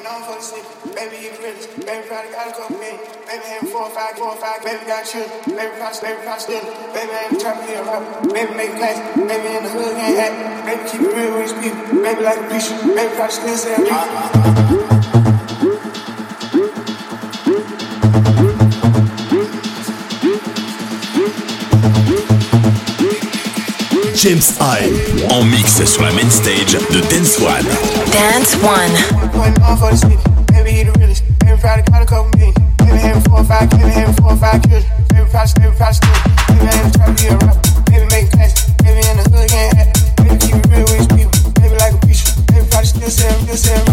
known for the city. Baby, you the realest. Baby, probably got a couple million. Baby, having 4 or 5. Baby, got children. Baby, probably still. Baby, ain't trying to be a rapper. Baby, make class. Baby, in the hood, ain't happy. Baby, keep it real with his people. Baby, like a preacher. Baby, probably still saying James Hype en mix sur la main stage de Dance One. Dance One. Baby, you the realest. Baby, probably got a couple million. Baby, having 4 or 5. Baby, having 4 or 5 children. Baby, probably still. Baby, ain't trying to be a rapper. Baby, make class. Baby, in the hood, ain't happy. Baby, keep it real with his people. Baby, like a preacher. Baby, probably still saying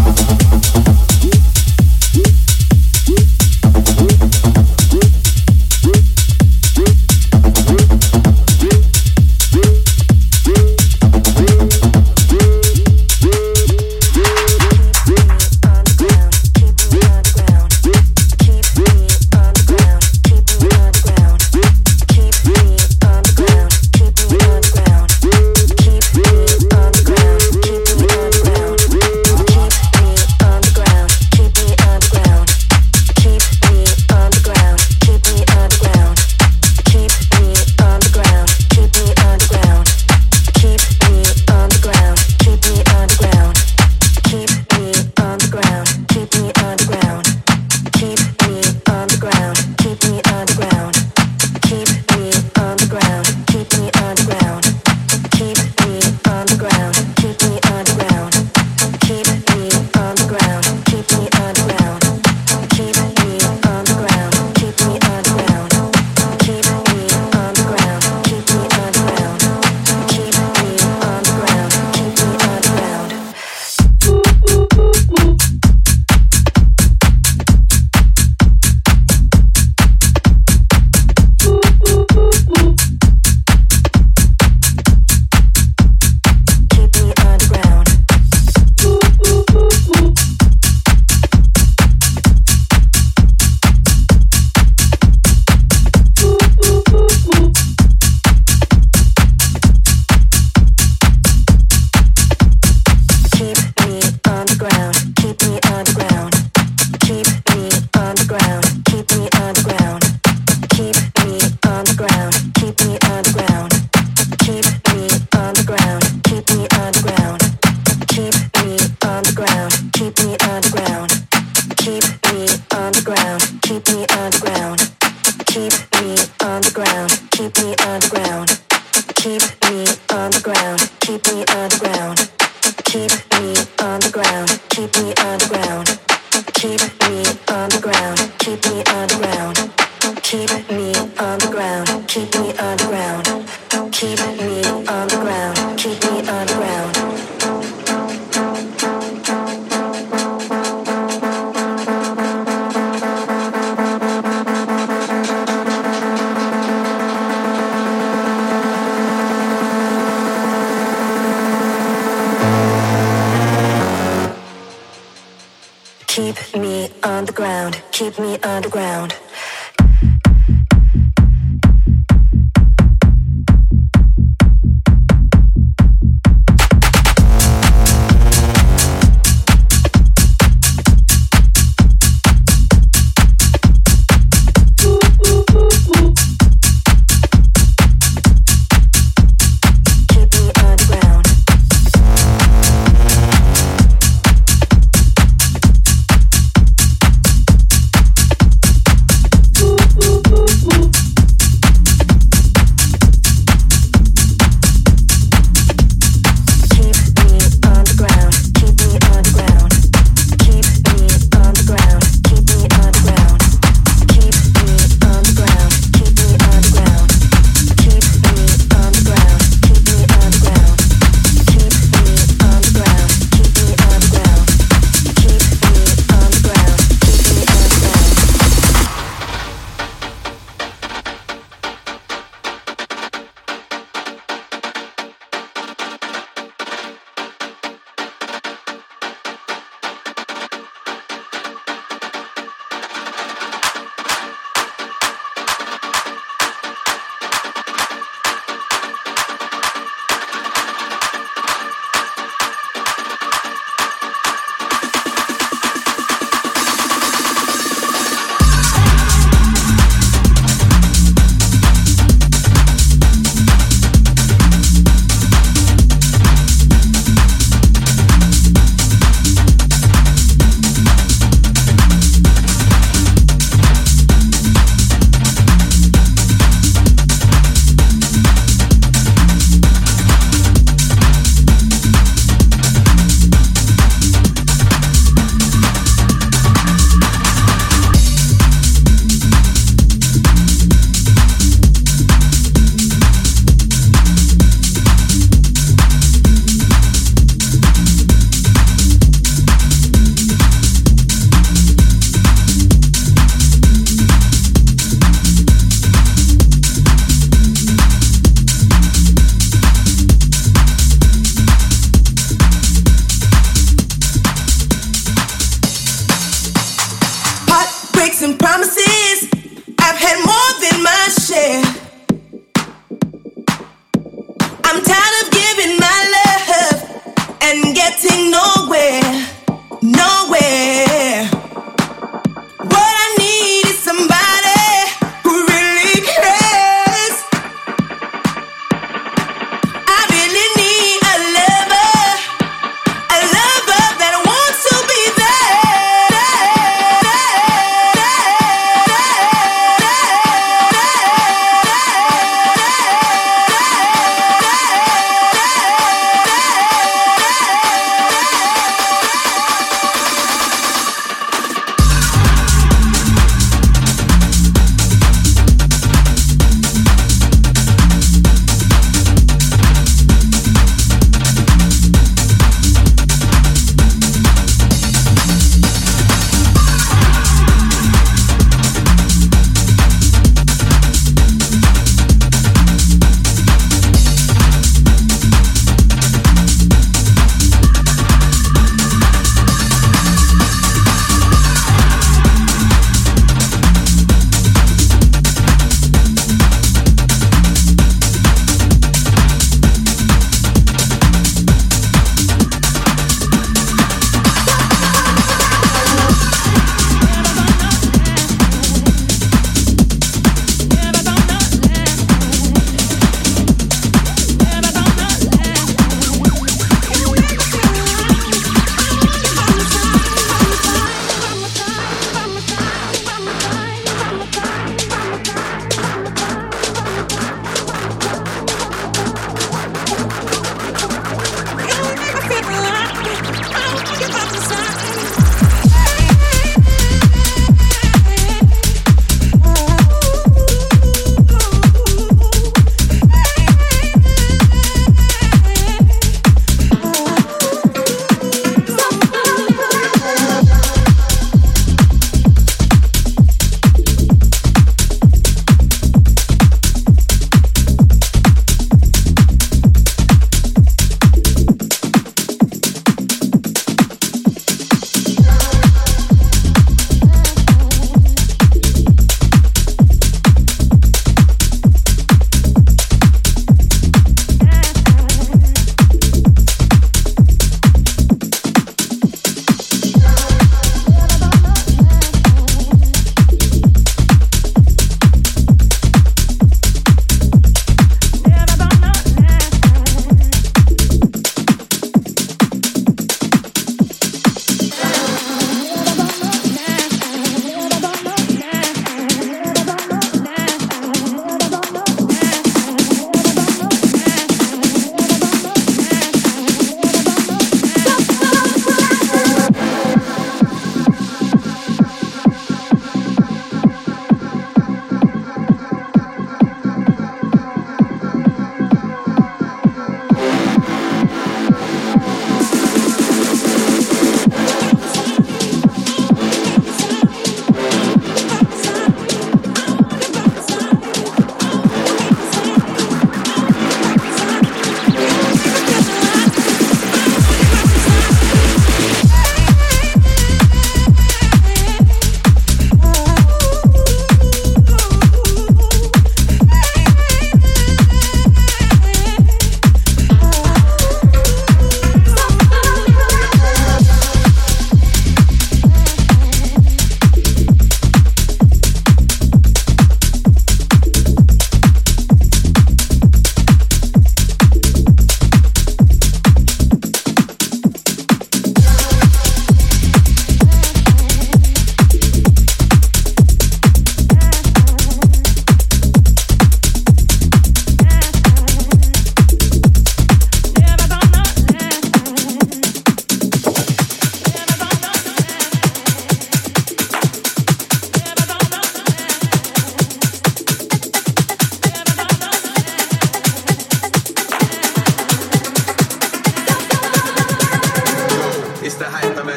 Keep me underground.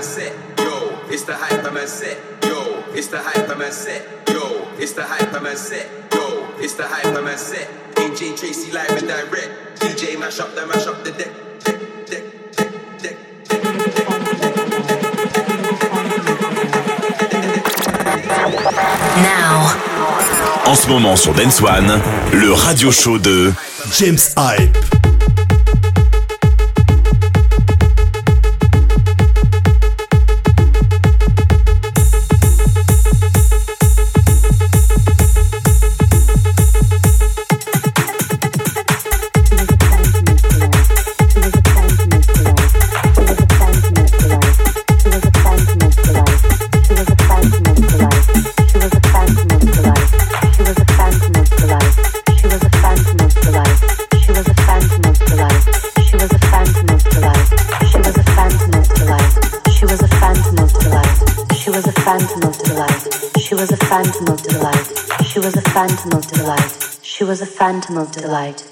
hyperman set. Yo, it's the hyperman set. Yo, it's the hyperman set. Yo, it's the hyperman set. Yo, it's the hyperman set. AJ Tracy live and direct. DJ mash up the deck. Now. En ce moment sur Dance One, le radio show de James Hype. She was a phantom of delight.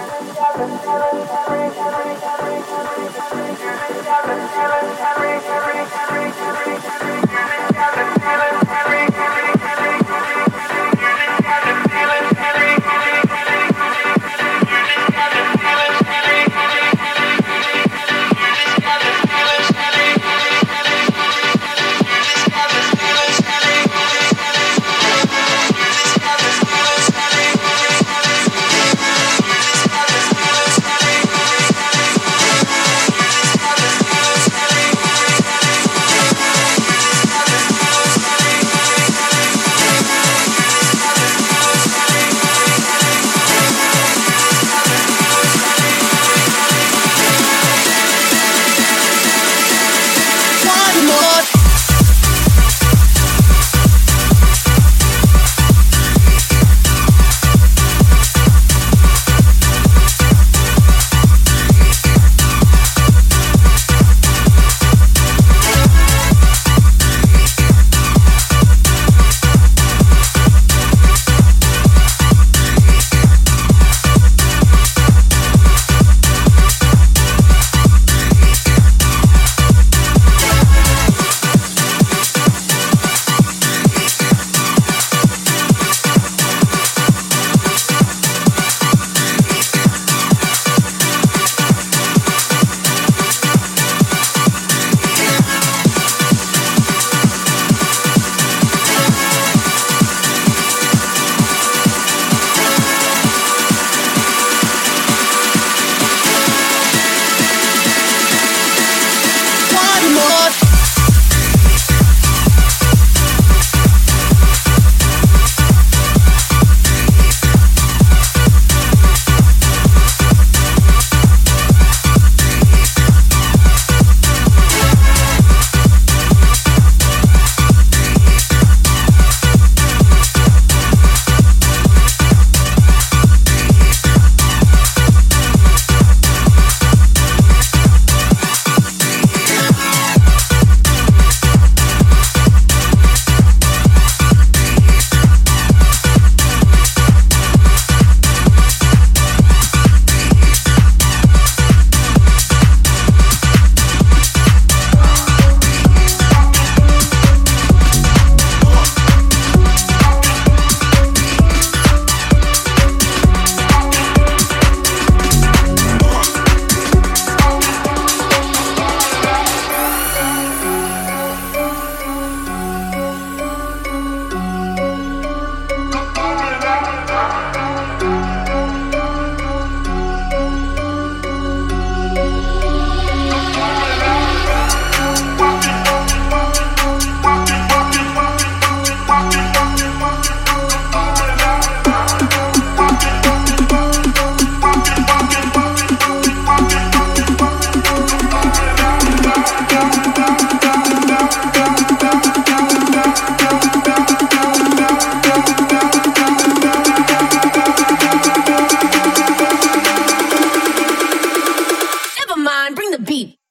Carry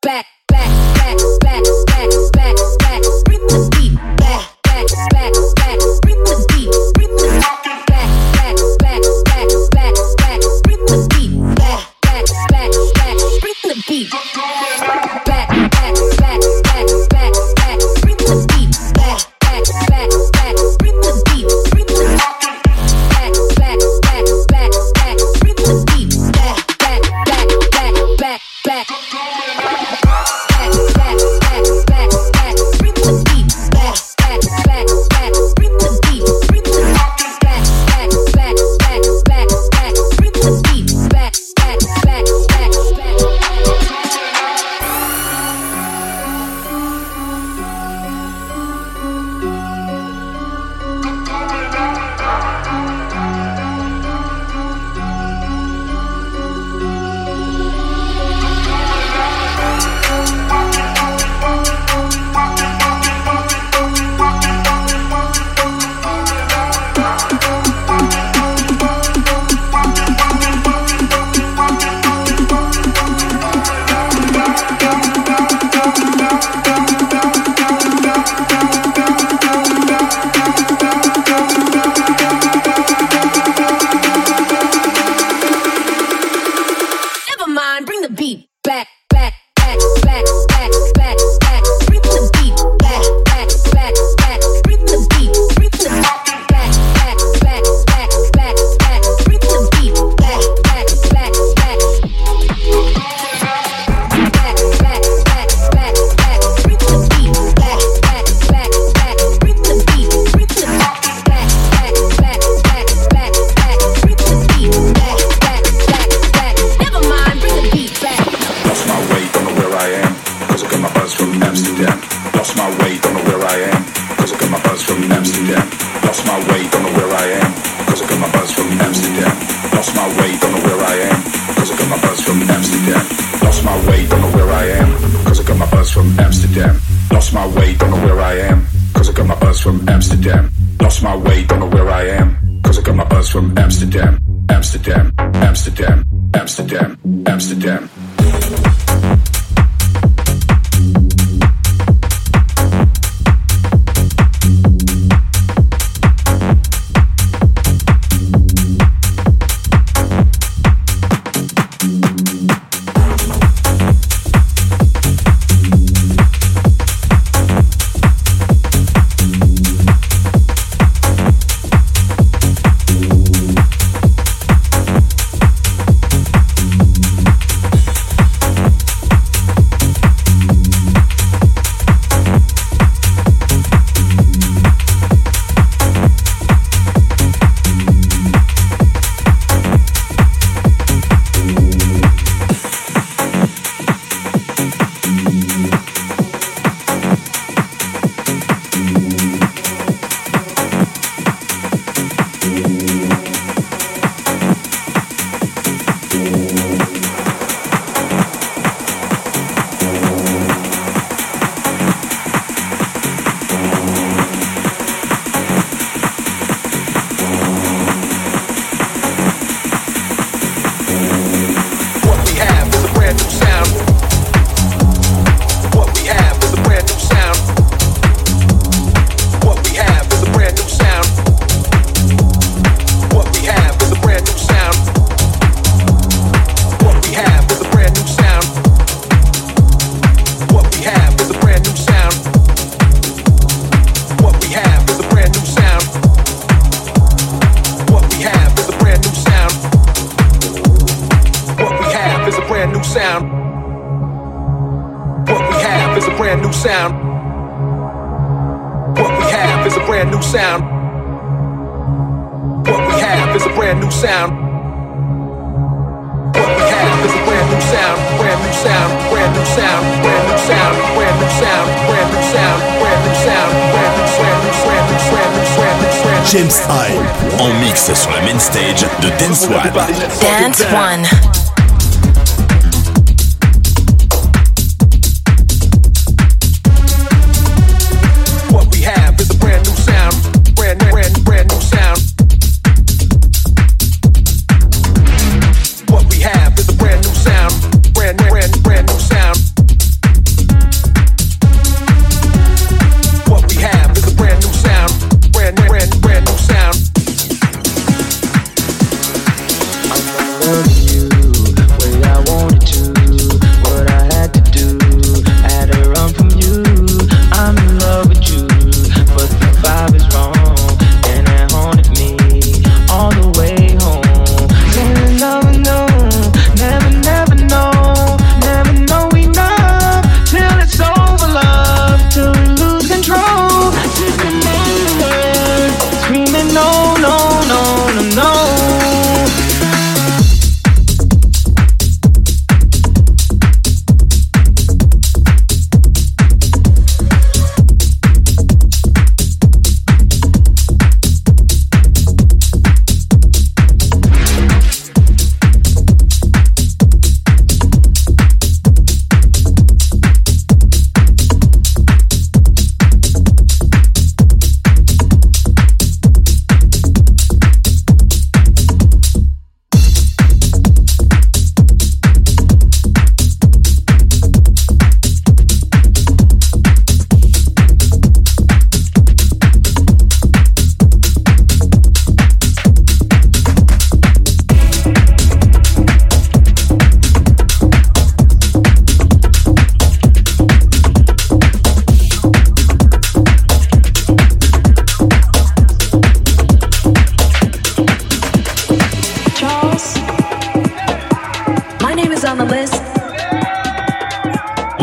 back, back, back, back, back, back, back. Bring the beat back, back, back, back. Bring the beat, bring the back, back, back, back, back, back. Bring the beat back, back, back, back. Bring the beat back, back, back, back, back, back. Bring the beat back, back, back, back. Bring the beat, bring the back, back, back, back, back. Bring the beat back, back, back, back, back, back. James Hype en mix sur la main stage de Dance One. Dance One. Brand new sound.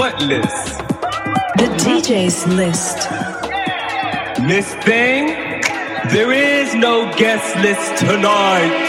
What list? The DJ's list. Miss Thing, there is no guest list tonight.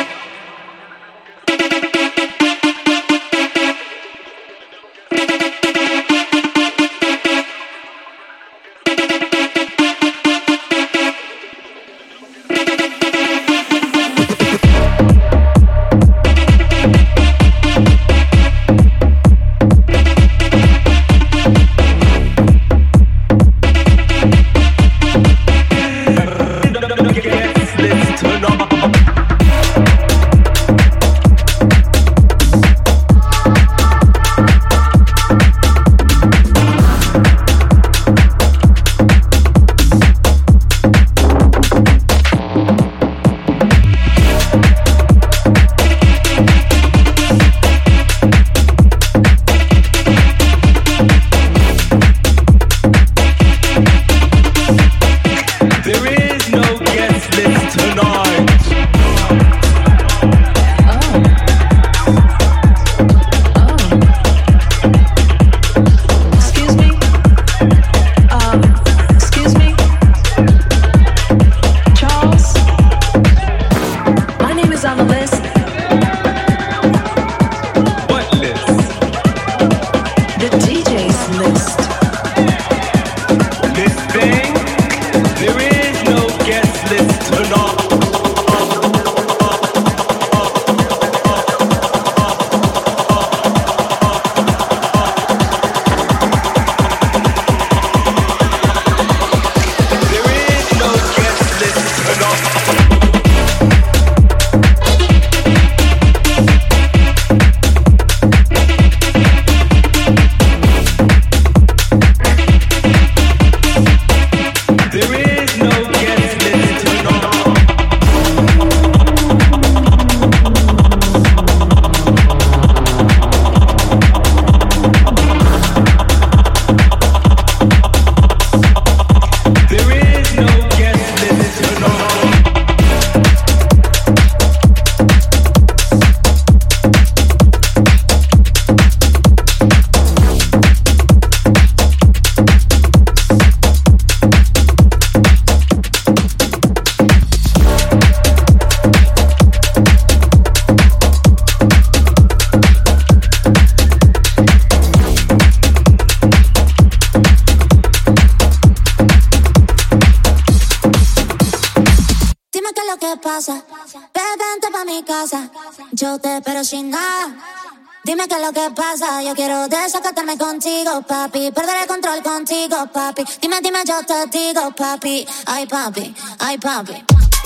Yo te espero sin nada. Dime qué es lo que pasa. Yo quiero desacatarme contigo, papi. Perder el control contigo, papi. Dime, yo te digo, papi. Ay, papi, ay, papi.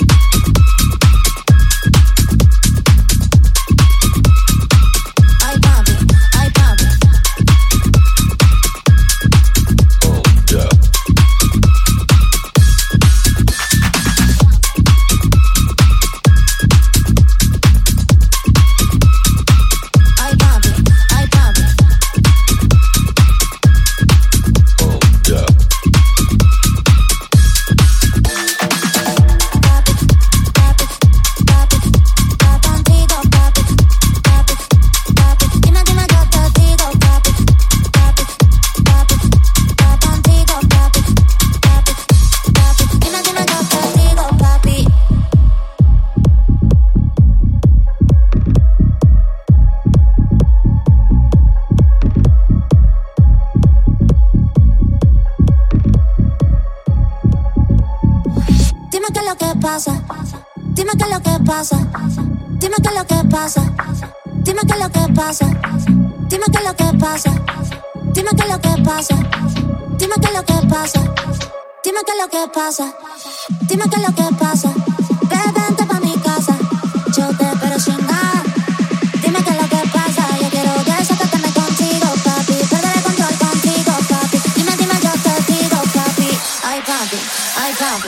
Dime qué es lo que pasa. Dime qué es lo que pasa. Dime qué es lo que pasa. Dime qué es lo que pasa. Dime qué es lo que pasa. Dime qué es lo que pasa. Dime qué es lo que pasa. Dime qué es lo que pasa. Vente pa' mi casa. Yo te espero sin nada. Dime qué es lo que pasa. Yo quiero desacatarme contigo, papi. Perder el control contigo, papi. Dime, yo te digo, papi. Ay, papi, ay, papi.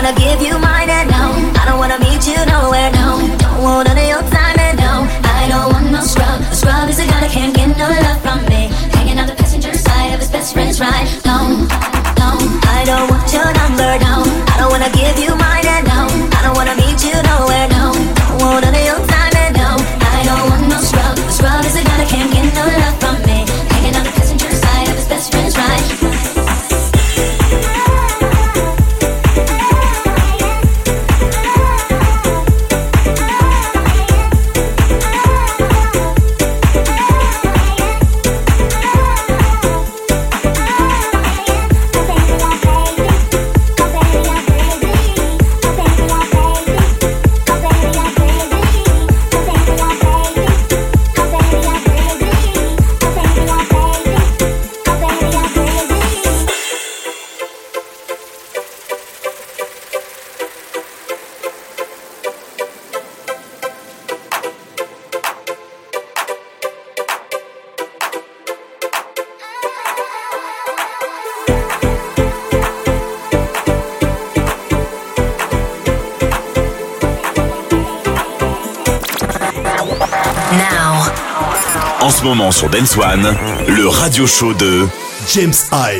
wanna give you mine and no, I don't wanna meet you nowhere, no. Don't want none of your time and no, I don't want no scrub. A scrub is a guy that can't get no love from me. Hanging out the passenger side of his best friend's ride. No, no, I don't want your number, no. I don't wanna give you mine and no, I don't wanna meet you nowhere, no. Don't want none of your time and no, I don't want no scrub. A scrub is a guy that can't get no love from me. Hanging out the passenger side of his best friend's ride. En ce moment sur Dance One, le radio show de James Hype.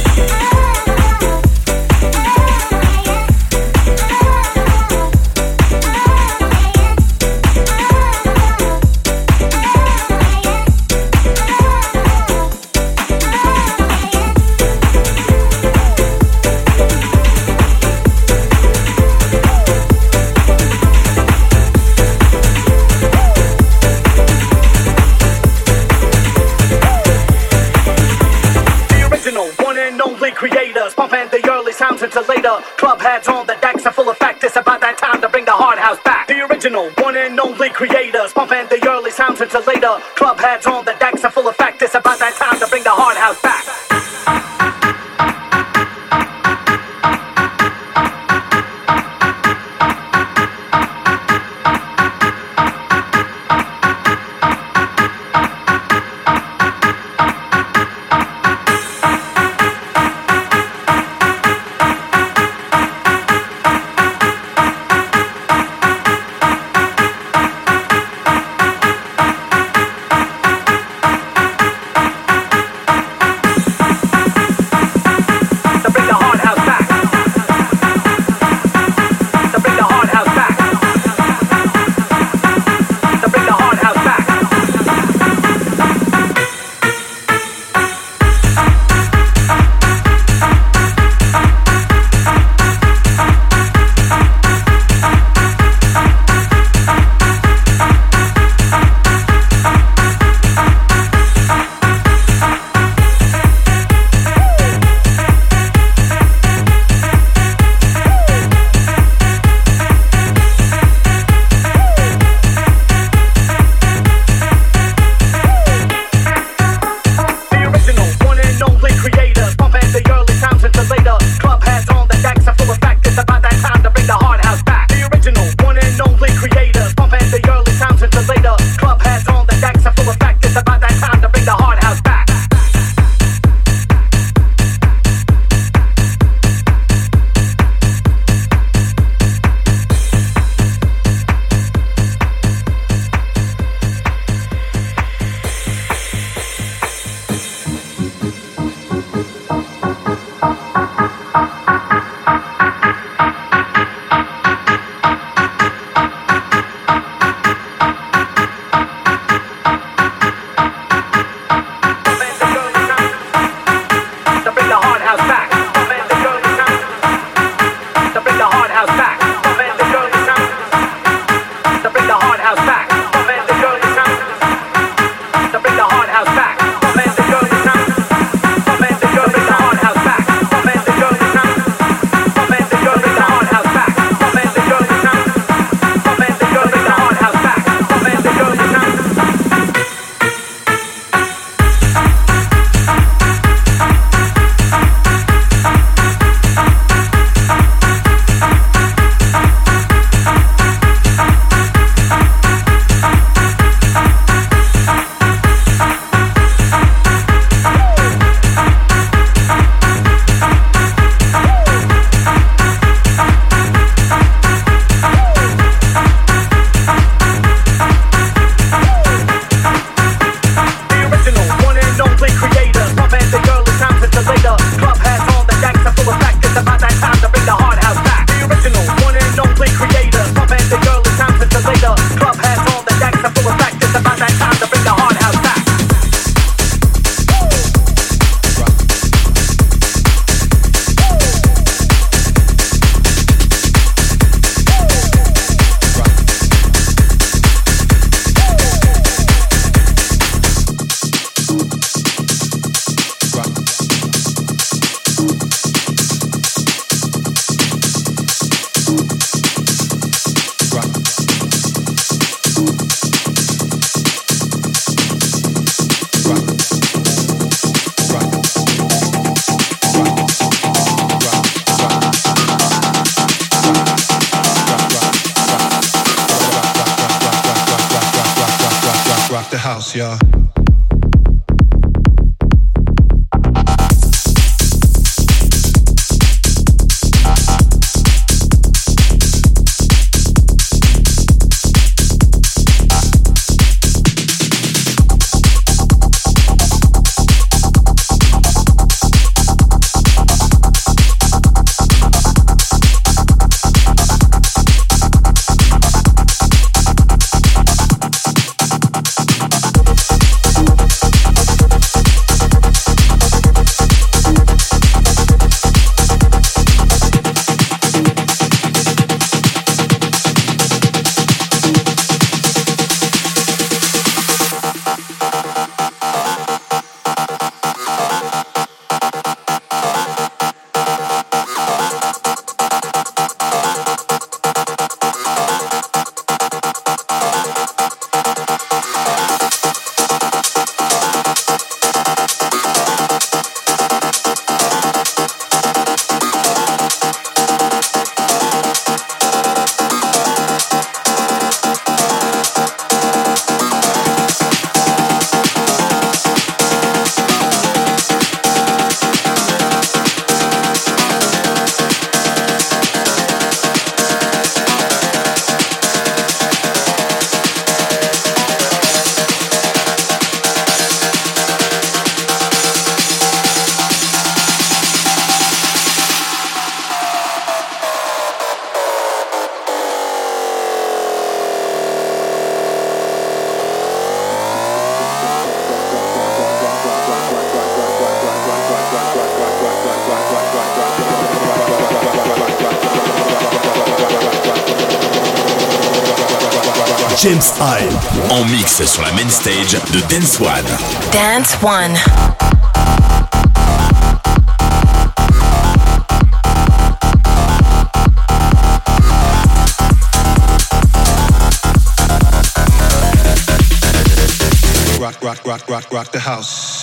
Club hats on, the decks are full of fact. It's about that time to bring the hard house back. The original, one and only creators, pumping the early sounds until later. Club hats on, the decks are full of fact. It's about that time to bring the hard house back. house, yeah. James Hype en mix sur la main stage de Dance One. Dance One. Rock the house.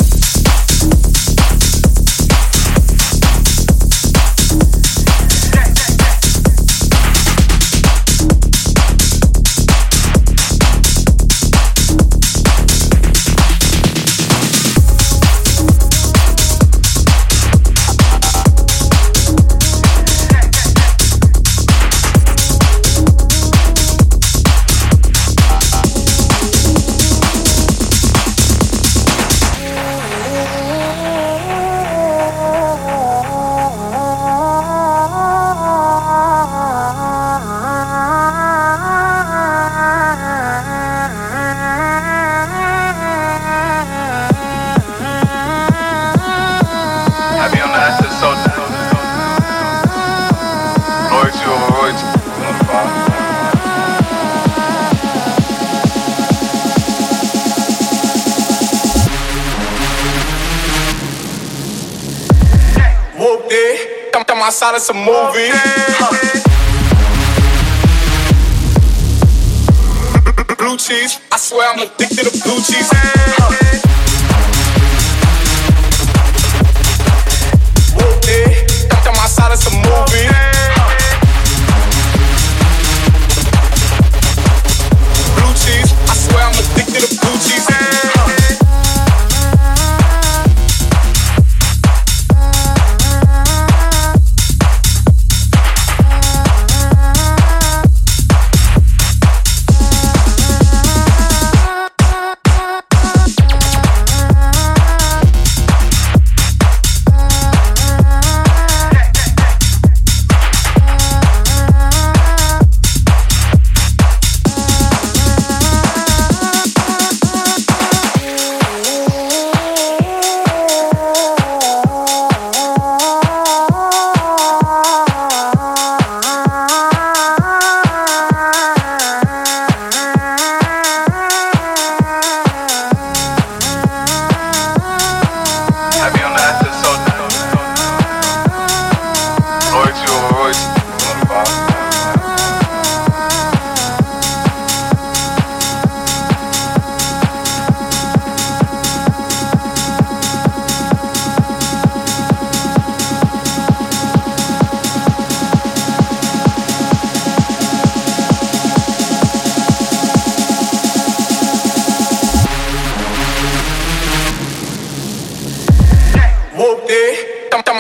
Outside of some movie. Blue cheese, I swear I'm addicted to blue cheese. Whoop it, I'm outside of some movie. Blue cheese, I swear I'm addicted to blue cheese.